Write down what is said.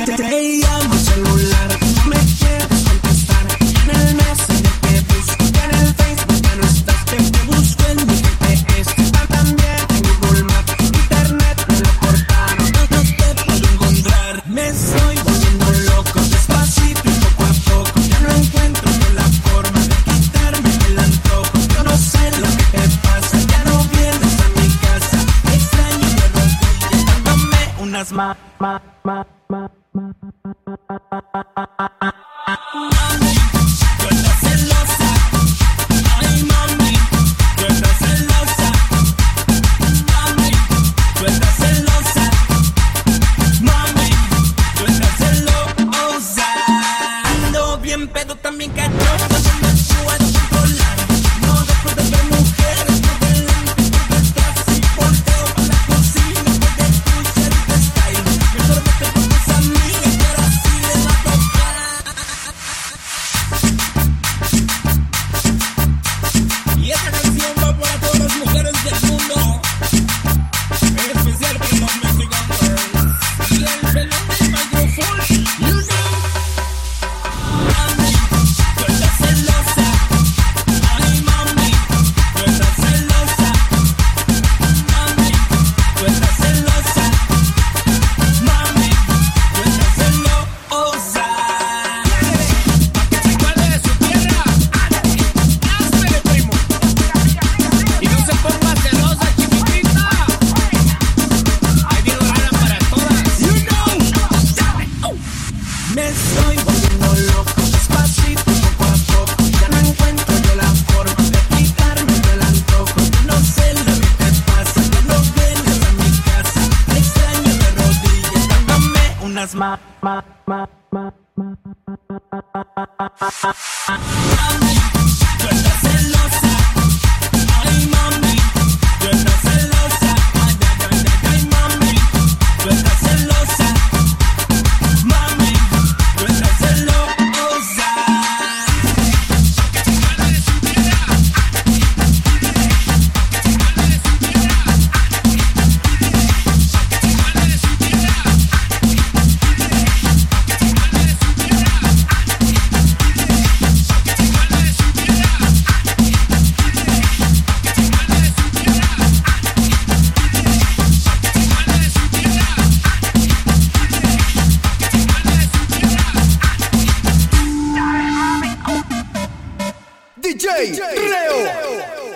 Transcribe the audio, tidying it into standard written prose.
Te llamo al celular, no me quieres contestar. En el Messenger te busco, en el Facebook ya no estás. Te busco en mi GPS, está también en Google Maps. Internet me lo cortaron, no te puedo encontrar. Me estoy volviendo loco, despacito y poco a poco. Ya no encuentro yo la forma de quitarme el antojo. Yo no sé lo que te pasa, ya no vienes a mi casa. Extraño de rodillas, dándome unas Mami, tú estás celosa. Ay, mami, tú estás celosa. Mami, tú estás celosa. Mami, tú estás celosa. Ando bien pedo, también cachondo, no me puedo controlar. No dejo de ver mujeres por delante por detrás. Y volteo a la cocina porque escuchar tu style. Mejor vete con tus amigas, pero así le va a tocar. Y esta canción va para todas las mujeres del mundo, en especial para los Mexican girls. Y el pelón del micrófono, you know. Mami, tú estás celosa. Ay, mami, tú estás celosa. Mami, tú estás celosa. Mami, tú estás celosa. ¿Cuál es su tierra? Áspere, primo. Y no se ponga celosa, chiquitita. Ahí viene la gana para todas. You know. Me estoy volviendo loco, despacito, poco a poco. Ya no encuentro yo la forma de quitarme el antojo. Yo no sé lo que te pasa, ya no vienes a mi casa. Extraño de rodillas, dándome unas Mami, tú estás celosa. Ay, mami, tú estás celosa. Ay, ay, ay, ay, mami, tú estás celosa. Mami, tú estás celosa. DJ Reo.